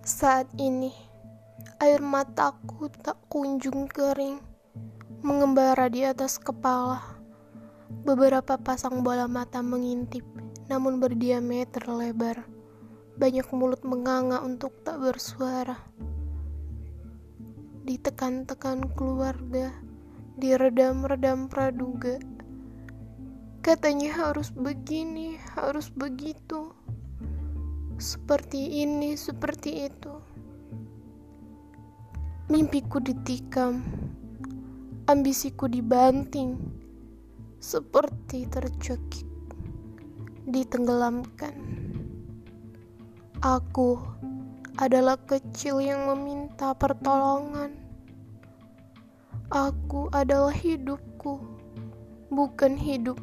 Saat ini, air mataku tak kunjung kering, mengembara di atas kepala. Beberapa pasang bola mata mengintip, namun berdiameter lebar. Banyak mulut menganga untuk tak bersuara. Ditekan-tekan keluarga, diredam-redam praduga. Katanya harus begini, harus begitu. Seperti ini, seperti itu. Mimpiku ditikam, ambisiku dibanting, seperti tercekik, ditenggelamkan. Aku adalah kecil yang meminta pertolongan. Aku adalah hidupku, bukan hidupmu.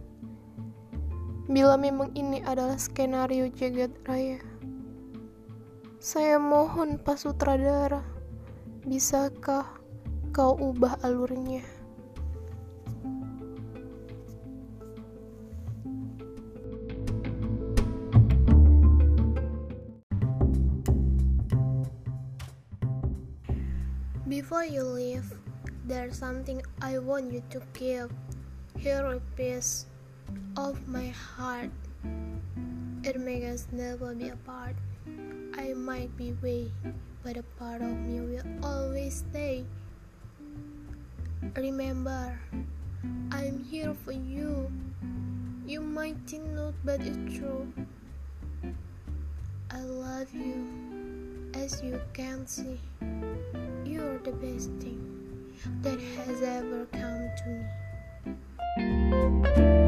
Bila memang ini adalah skenario jagat raya, saya mohon Pak Sutradara, bisakah kau ubah alurnya? Before you leave, there's something I want you to give. Here a piece of my heart. It makes us never be apart. I might be away, but a part of me will always stay. Remember, I'm here for you. You might think not, but it's true. I love you. As you can see, you're the best thing that has ever come to me.